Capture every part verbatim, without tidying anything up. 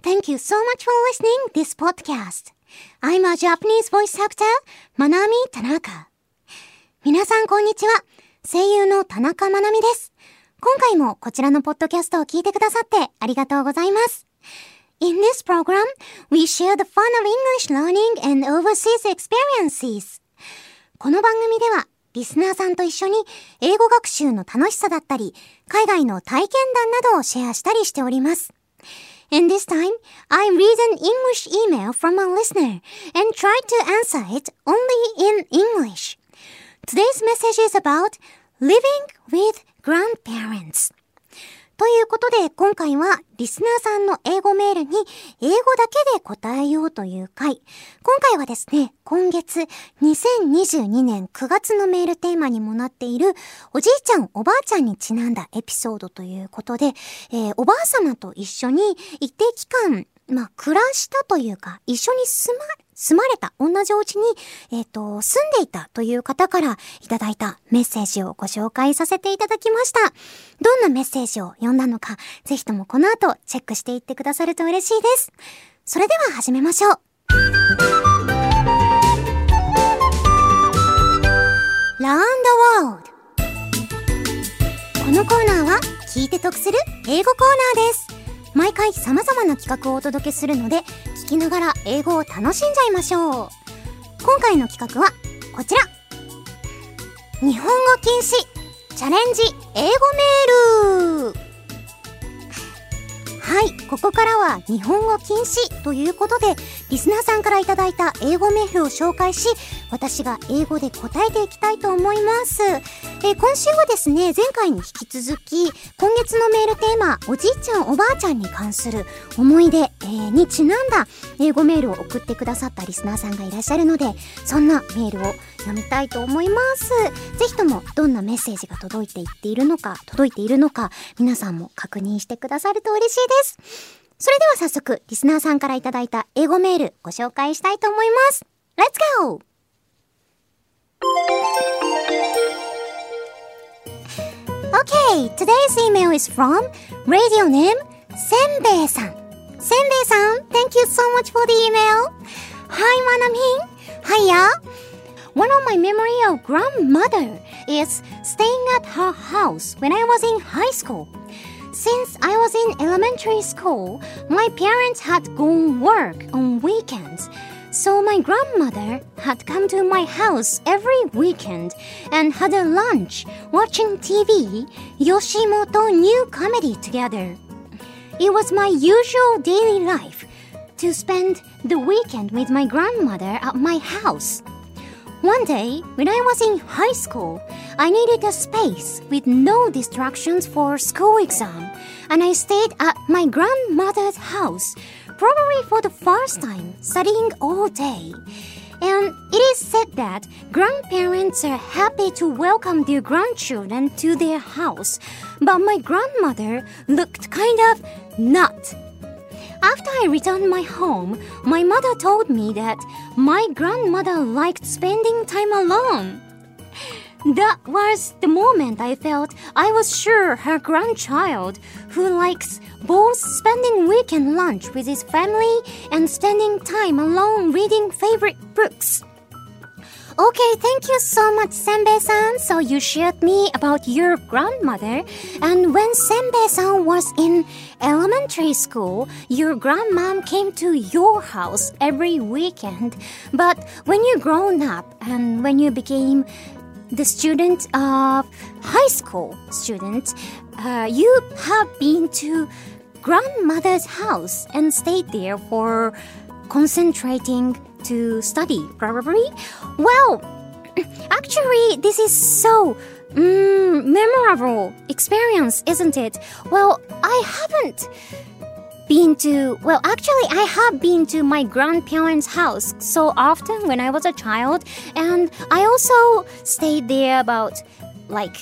Thank you so much for listening this podcast. I'm a Japanese voice actor, Manami Tanaka. 皆さんこんにちは。声優の田中まなみです。今回もこちらのポッドキャストを聞いてくださってありがとうございます。In this program, we share the fun of English learning and overseas experiences. この番組ではリスナーさんと一緒に英語学習の楽しさだったり、海外の体験談などをシェアしたりしております。And this time, I read an English email from a listener and try to answer it only in English. Today's message is about living with grandparents. ということで、今回はリスナーさんの英語メールに英語だけで答えようという回。今回はですね、今月にせんにじゅうにねんくがつのメールテーマにもなっているおじいちゃんおばあちゃんにちなんだエピソードということで、えー、おばあ様と一緒に一定期間、まあ、暮らしたというか、一緒に住ま、住まれた、同じお家に、えっと、住んでいたという方からいただいたメッセージをご紹介させていただきました。どんなメッセージを読んだのか、ぜひともこの後チェックしていってくださると嬉しいです。それでは始めましょう。Round the World。このコーナーは聞いて得する英語コーナーです。毎回様々な企画をお届けするので、聞きながら英語を楽しんじゃいましょう。今回の企画はこちら。日本語禁止チャレンジ英語メール。はい、ここからは日本語禁止ということで、リスナーさんからいただいた英語メールを紹介し、私が英語で答えていきたいと思います。えー、今週はですね、前回に引き続き、今月のメールテーマ、おじいちゃんおばあちゃんに関する思い出、えー、にちなんだ英語メールを送ってくださったリスナーさんがいらっしゃるので、そんなメールを読みたいと思います。ぜひともどんなメッセージが届いていっているのか、届いているのか、皆さんも確認してくださると嬉しいです。それでは早速、リスナーさんからいただいた英語メールご紹介したいと思います。Let's go! Okay, today's email is from radio name Senbei-san. Senbei-san, thank you so much for the email. Hi, Manamin. Hiya. One of my memory of grandmother is staying at her house when I was in high school.Since I was in elementary school, my parents had gone work on weekends. So my grandmother had come to my house every weekend and had a lunch watching T V, Yoshimoto New Comedy together. It was my usual daily life to spend the weekend with my grandmother at my house.One day, when I was in high school, I needed a space with no distractions for school exam, and I stayed at my grandmother's house, probably for the first time, studying all day. And it is said that grandparents are happy to welcome their grandchildren to their house, but my grandmother looked kind of not.After I returned my home, my mother told me that my grandmother liked spending time alone. That was the moment I felt I was sure her grandchild, who likes both spending weekend lunch with his family and spending time alone reading favorite books.Okay, thank you so much, Senbei-san. So you shared me about your grandmother. And when Senbei-san was in elementary school, your grandmom came to your house every weekend. But when you grown up and when you became the student of high school student, uh, you have been to grandmother's house and stayed there for concentrating to study, probably. Well, actually, this is so mm, memorable experience, isn't it? Well, I haven't been to, well, actually, I have been to my grandparents' house so often when I was a child, and I also stayed there about, like,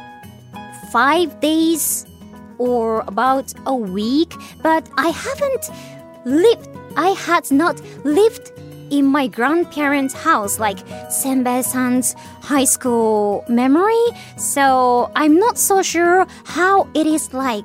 five days or about a week, but I haven't lived, I had not lived in my grandparents' house, like Senbei-san's high school memory, so I'm not so sure how it is like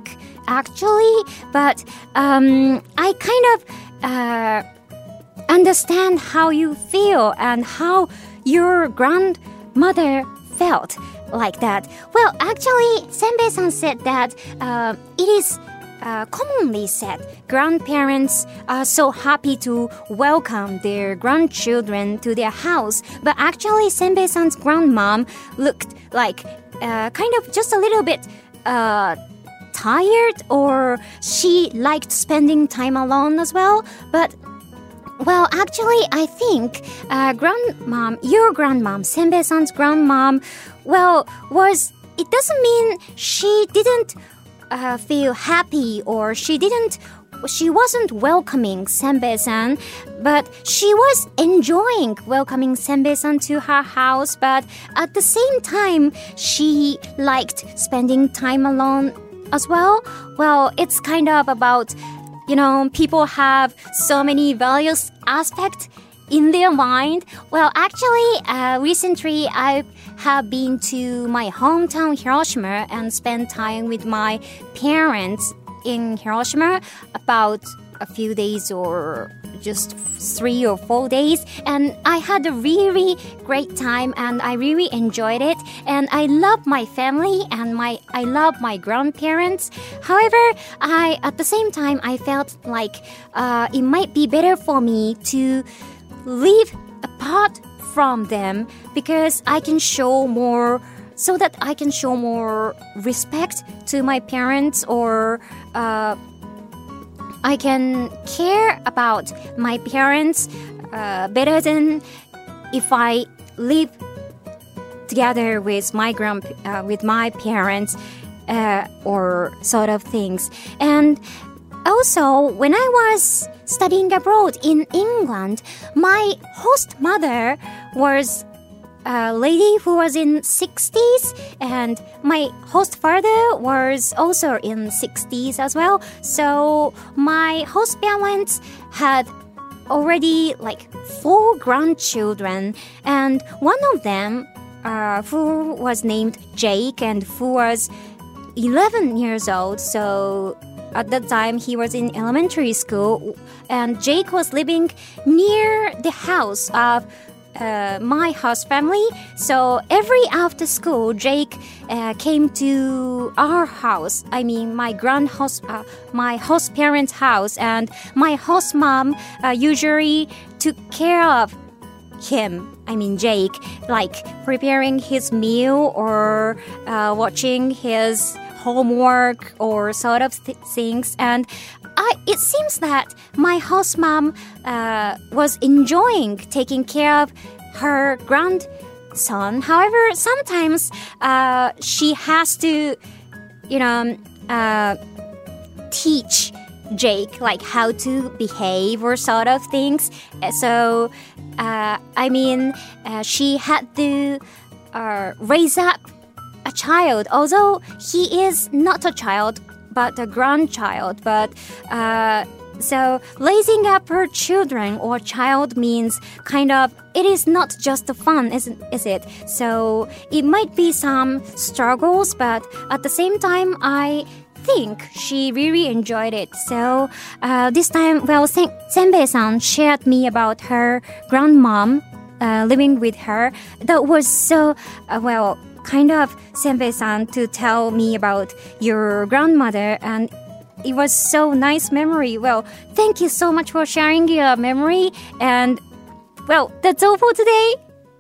actually, but um, I kind of uh, understand how you feel and how your grandmother felt like that. Well, actually, Senbei-san said that uh, it is uh, commonly said grandparents are so happy to welcome their grandchildren to their house. But actually, Senbei-san's grandmom looked like uh, kind of just a little bit uh, tired, or she liked spending time alone as well. But well, actually, I think uh, grandmom, your grandmom, Senbei-san's grandmom, well, was, it doesn't mean she didn't uh, feel happy or she didn't, she wasn't welcoming Senbei-san, but she was enjoying welcoming Senbei-san to her house, but at the same time, she liked spending time alone as well. Well, it's kind of about, you know, people have so many various aspects in their mind. Well, actually, uh, recently I have been to my hometown Hiroshima and spent time with my parents in Hiroshima about a few days or just three or four days, and I had a really great time and I really enjoyed it, and I love my family and my I love my grandparents. However, I at the same time I felt like uh, it might be better for me to live apart from them because I can show more so that I can show more respect to my parents, or uh, I can care about my parents uh, better than if I live together with my grand uh, with my parents uh, or sort of things. And also, when I was studying abroad in England, my host mother was a lady who was in sixties, and my host father was also in sixties as well. So my host parents had already like four grandchildren, and one of them uh, who was named Jake and who was eleven years old. So at that time he was in elementary school, and Jake was living near the house of Uh, my host family. So every after school, Jake uh, came to our house. I mean, my grand host, uh, my host parents' house, and my host mom uh, usually took care of him. I mean, Jake, like preparing his meal or uh, watching his homework or sort of th- things. And I, it seems that my host mom uh, was enjoying taking care of her grandson. However, sometimes uh, she has to, you know, uh, teach Jake like how to behave or sort of things. So, uh, I mean, uh, she had to uh, raise up a child, although he is not a child but a grandchild. But uh, so raising up her children or child means kind of, it is not just fun, isn't is it? So it might be some struggles, but at the same time, I think she really enjoyed it. So uh, this time, well, Sen- Senbei-san shared me about her grandmom uh, living with her. That was so, uh, well, kind of Senbei-san to tell me about your grandmother, and it was so nice memory. Well, thank you so much for sharing your memory, and well, that's all for today.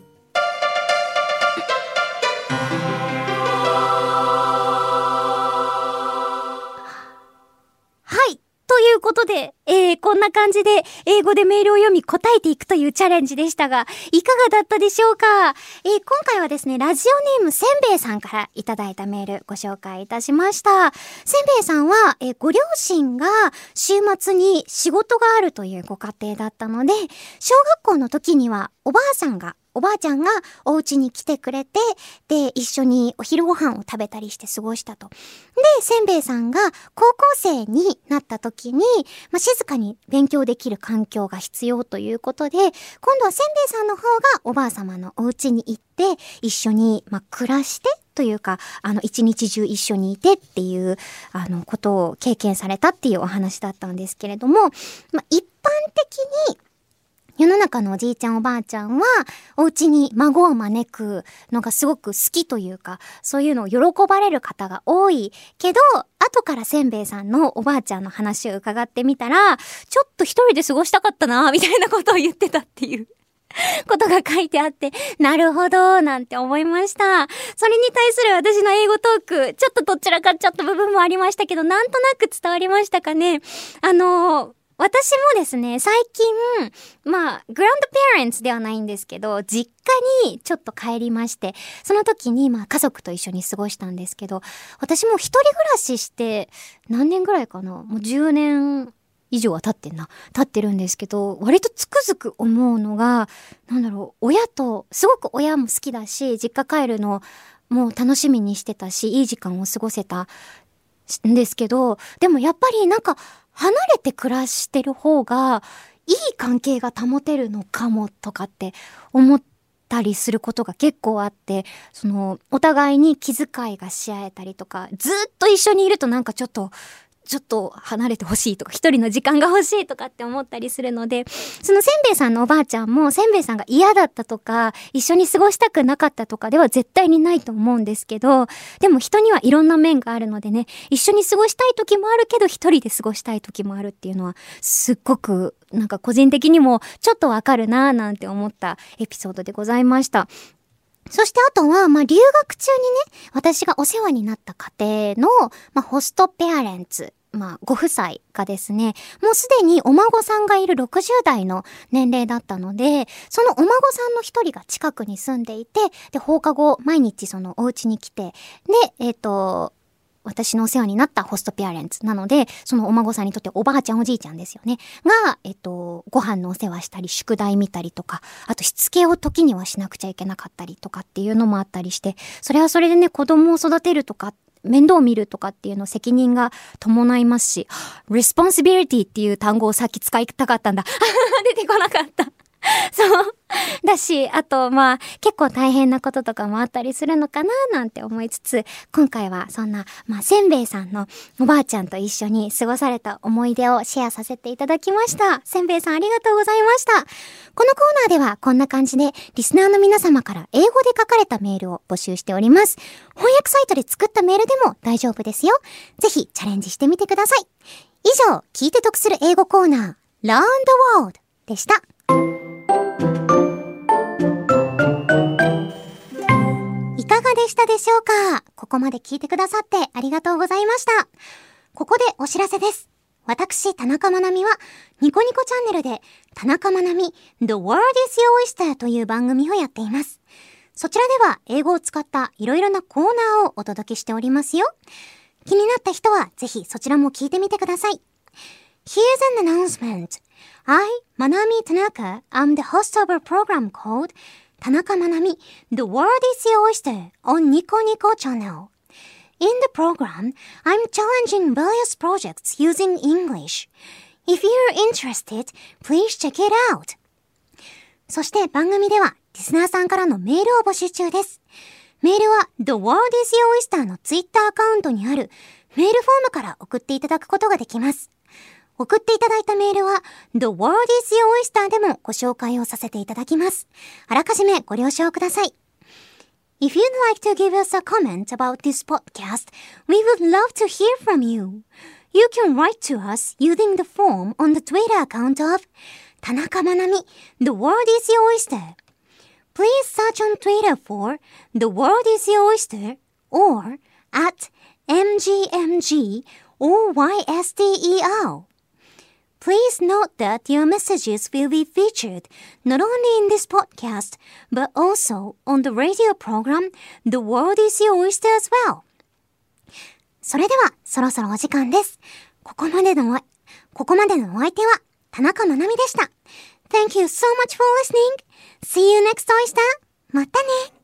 Hi. ということで、えー、こんな感じで英語でメールを読み答えていくというチャレンジでしたが、いかがだったでしょうか？えー、今回はですね、ラジオネームせんべいさんからいただいたメールご紹介いたしました。せんべいさんは、えー、ご両親が週末に仕事があるというご家庭だったので、小学校の時にはおばあさんがおばあちゃんがお家に来てくれて、で、一緒にお昼ご飯を食べたりして過ごしたと。で、せんべいさんが高校生になった時に、まあ、静かに勉強できる環境が必要ということで、今度はせんべいさんの方がおばあ様のお家に行って、一緒に、まあ、暮らして、 というか、あの、一日中一緒にいてっていう、あの、ことを経験されたっていうお話だったんですけれども、まあ、一般的に、世の中のおじいちゃんおばあちゃんは、お家に孫を招くのがすごく好きというか、そういうのを喜ばれる方が多いけど、後からせんべいさんのおばあちゃんの話を伺ってみたら、ちょっと一人で過ごしたかったな、みたいなことを言ってたっていうことが書いてあって、なるほど、なんて思いました。それに対する私の英語トーク、ちょっとどちらかっちゃった部分もありましたけど、なんとなく伝わりましたかね。あのー、私もですね、最近、まあ、グランドペアレンツではないんですけど、実家にちょっと帰りまして、その時に、まあ、家族と一緒に過ごしたんですけど、私も一人暮らしして、何年ぐらいかな？もうじゅうねん以上は経ってんな。経ってるんですけど、割とつくづく思うのが、なんだろう、親と、すごく親も好きだし、実家帰るのもう楽しみにしてたし、いい時間を過ごせたんですけど、でもやっぱりなんか、離れて暮らしてる方がいい関係が保てるのかもとかって思ったりすることが結構あって、そのお互いに気遣いがし合えたりとか、ずっと一緒にいるとなんかちょっとちょっと離れてほしいとか、一人の時間が欲しいとかって思ったりするので、そのせんべいさんのおばあちゃんも、せんべいさんが嫌だったとか、一緒に過ごしたくなかったとかでは絶対にないと思うんですけど、でも人にはいろんな面があるのでね、一緒に過ごしたい時もあるけど、一人で過ごしたい時もあるっていうのは、すっごく、なんか個人的にもちょっとわかるなぁなんて思ったエピソードでございました。そしてあとは、まあ、留学中にね、私がお世話になった家庭の、まあ、ホストペアレンツ、まあ、ご夫妻がですね、もうすでにお孫さんがいるろくじゅう代の年齢だったので、そのお孫さんの一人が近くに住んでいて、で、放課後、毎日そのお家に来て、で、えっと、私のお世話になったホストペアレンツなので、そのお孫さんにとっておばあちゃんおじいちゃんですよね。が、えっと、ご飯のお世話したり、宿題見たりとか、あとしつけを時にはしなくちゃいけなかったりとかっていうのもあったりして、それはそれでね、子供を育てるとか、面倒を見るとかっていうの責任が伴いますし、responsibility っていう単語をさっき使いたかったんだ。出てこなかった。そう。だし、あと、まあ、結構大変なこととかもあったりするのかななんて思いつつ、今回はそんな、まあ、せんべいさんのおばあちゃんと一緒に過ごされた思い出をシェアさせていただきました。せんべいさんありがとうございました。このコーナーではこんな感じで、リスナーの皆様から英語で書かれたメールを募集しております。翻訳サイトで作ったメールでも大丈夫ですよ。ぜひチャレンジしてみてください。以上、聞いて得する英語コーナー、Learn the World でした。いかがでしたでしょうか？ここまで聞いてくださってありがとうございました。ここでお知らせです。私、田中まなみは、ニコニコチャンネルで、田中まなみ The World is Your Oyster という番組をやっています。そちらでは、英語を使ったいろいろなコーナーをお届けしておりますよ。気になった人は、ぜひそちらも聞いてみてください。Here's an announcement. I, Manami Tanaka, am the host of a program called 田中まなみ The World is Your Oyster on Nico Nico Channel. In the program, I'm challenging various projects using English. If you're interested, please check it out. そして番組ではリスナーさんからのメールを募集中です。メールは The World is Your Oyster のツイッターアカウントにあるメールフォームから送っていただくことができます。送っていただいたメールは The World is Your Oyster でもご紹介をさせていただきます。あらかじめご了承ください。If you'd like to give us a comment about this podcast, we would love to hear from you. You can write to us using the form on the Twitter account of 田中まなみ The World is Your Oyster. Please search on Twitter for The World is Your Oyster or at M G M G O Y S T E R. Please note that your messages will be featured not only in this podcast, but also on the radio program The World is Your Oyster as well. それでは、そろそろお時間です。ここまでのお、ここまでのお相手は、田中まなみでした。Thank you so much for listening. See you next Oyster. またね。